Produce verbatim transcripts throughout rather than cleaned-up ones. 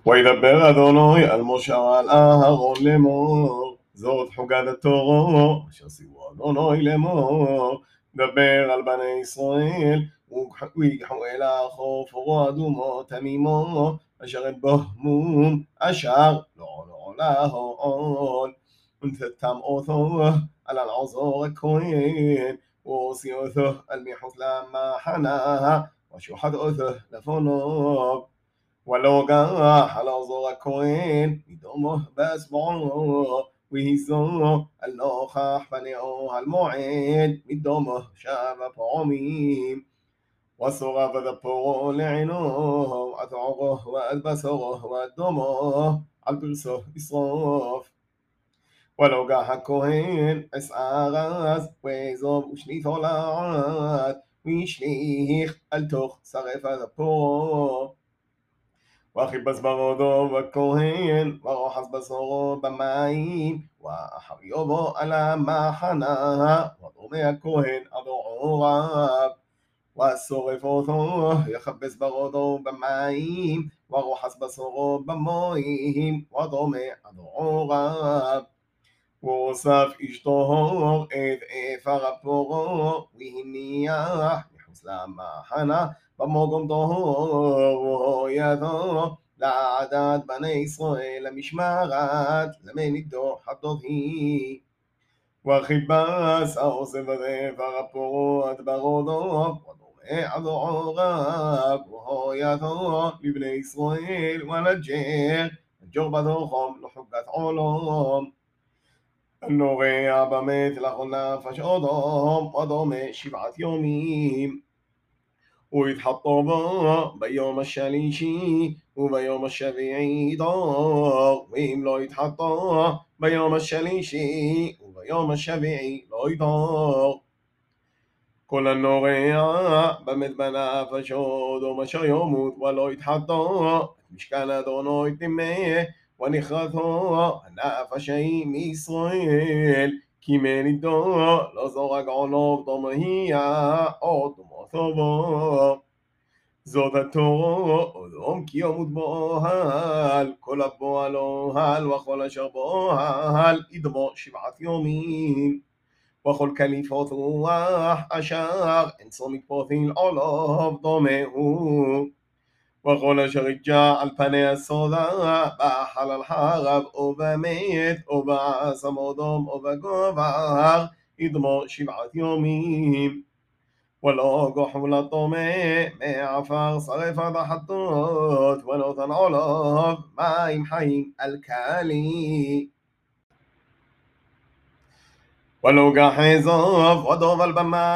וידבר אדוני על משה ועל אהרון לאמור, זאת חוגת התורו אשר ציוו אדוני לאמור, דבר על בני ישראל ויקחו אל החוף אורו אדומו תמימו אשר את בו מום אשר לא עולו להועול ונתתם אותו על אלעזר הכהן והוציא אותו על מחוץ למחנה ושוחט אותו לפניו ולא גח על אלעזר הכהן מדומו באצבעו והיזו על נוכח פניהו על מועד מדומו שבע פעמים ושרף את אפו לעינו עד עורו ועד בשרו ועד דמו על פרסו ישרוף ולא גח הכהן עשה ארז ואזוב ושניתו לעד והשליך על תוך שרפת אפו וכיבס ברודו בכהן ורוחץ בשרו במים ואחריו בו על המחנה ודומה הכהן עד עוריו ושורף אותו יכבס ברודו במים ורוחץ בשרו במים ודומה עד עוריו והוסף אשתו את אפר אפורו והניח מחוץ למחנה במקום טהור ידו לעדת בני ישראל למשמרת למנידו חטות היא וכיבס העושם את אפר אפורו עד ברודו ודומה עד עוריו והויתו לבני ישראל ולג'ר הג'ור בתוכם לחוקת עולם נורע במת לכל נפש אדם ודומה שבעת יומים ויתחטא בו ביום השלישי וביום השביעי דור ואם לא יתחטא ביום השלישי וביום השביעי לא ידור כל הנורע במת בנפש אדם אשר ימות ולא יתחטא משכן אדוני טימא ונכרתו הנפש ההיא מישראל כי מנידו לא זורק עולו דומהיה או דומותו בו זאת התורו אדום כי ימות באוהל כל הפועל אוהל וכל אשר באוהל ידמו שבעת יומים וכל קליפות רוח אשר אין צום מתפותים עולו דומה הוא וכל אשר יג'ע על פני הסודה בחלל חרב או במת או בעשם אדום או בגובר ידמו שבעת יומים ולא גוחו לטומא מעפר שרפת החטות ונותן עליו מים חיים אלקלי ולא גח אזוב ודובל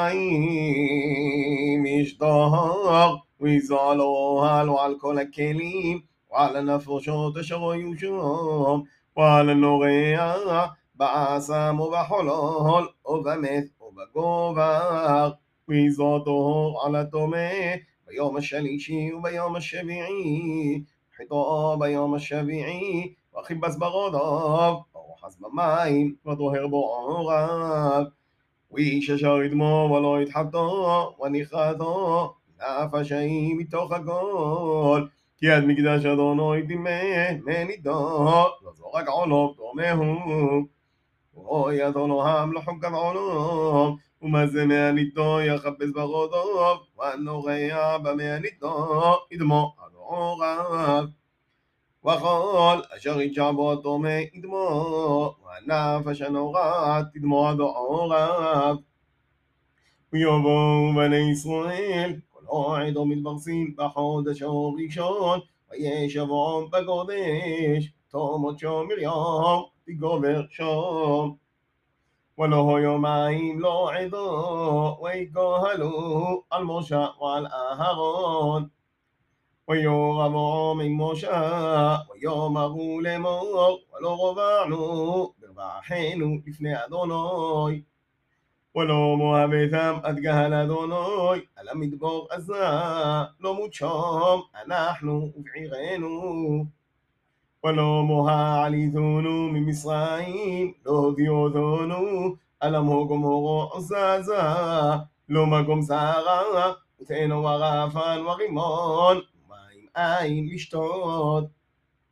במים ישתהר ויזוע על האוהל ועל כל הכלים ועל הנפשות אשר היו שם ועל הנורע בעשם ובחולל ובמת ובגובר ויזוע טהור על הטומא ביום השלישי וביום השביעי חטאו ביום השביעי וכיבס ברודו ורוחץ במים וטהר בו עוריו ואיש אשר ידמו ולא יתחטא ונכרתו נפש ההיא מתוך הכל כי עד מקדש אדוני טימא מנידו לא זורק עולו דומה הוא ואוי אדונם לחוקת עולם ומזה מהנידו יכבס ברודו והנורע במהנידו ידמו עד עוריו וכל אשר יג'ע בו הטומא ידמו והנפש הנורא תדמו עד עוריו ויבואו בני ישראל כל עדו מתפרסים בחודש הראשון וישבעם בקודש תעמוד שם מרים תגבר שם ולא יומיים לא עדו ויקהלו על משה ועל אהרון ויורבעם עם משה ויאמרו לאמור ולא רבענו ברכנו לפני אדוני ולא מוהבתם עד קהל אדוני על המדבר הזה לא מות שם אנחנו ובעירנו ולא מוהעליתנו ממצרים לא הודיעותנו על המקום הורו עזזה לא מקום שערה ותנו ורפן ורימון ומים אין לשתות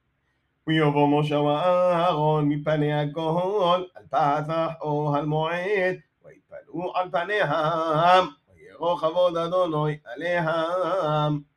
ויבוא משה ואהרון מפני הכל על פסח או על מועד, ויתפלאו על פניהם, ויראו כבוד אדוני עליהם.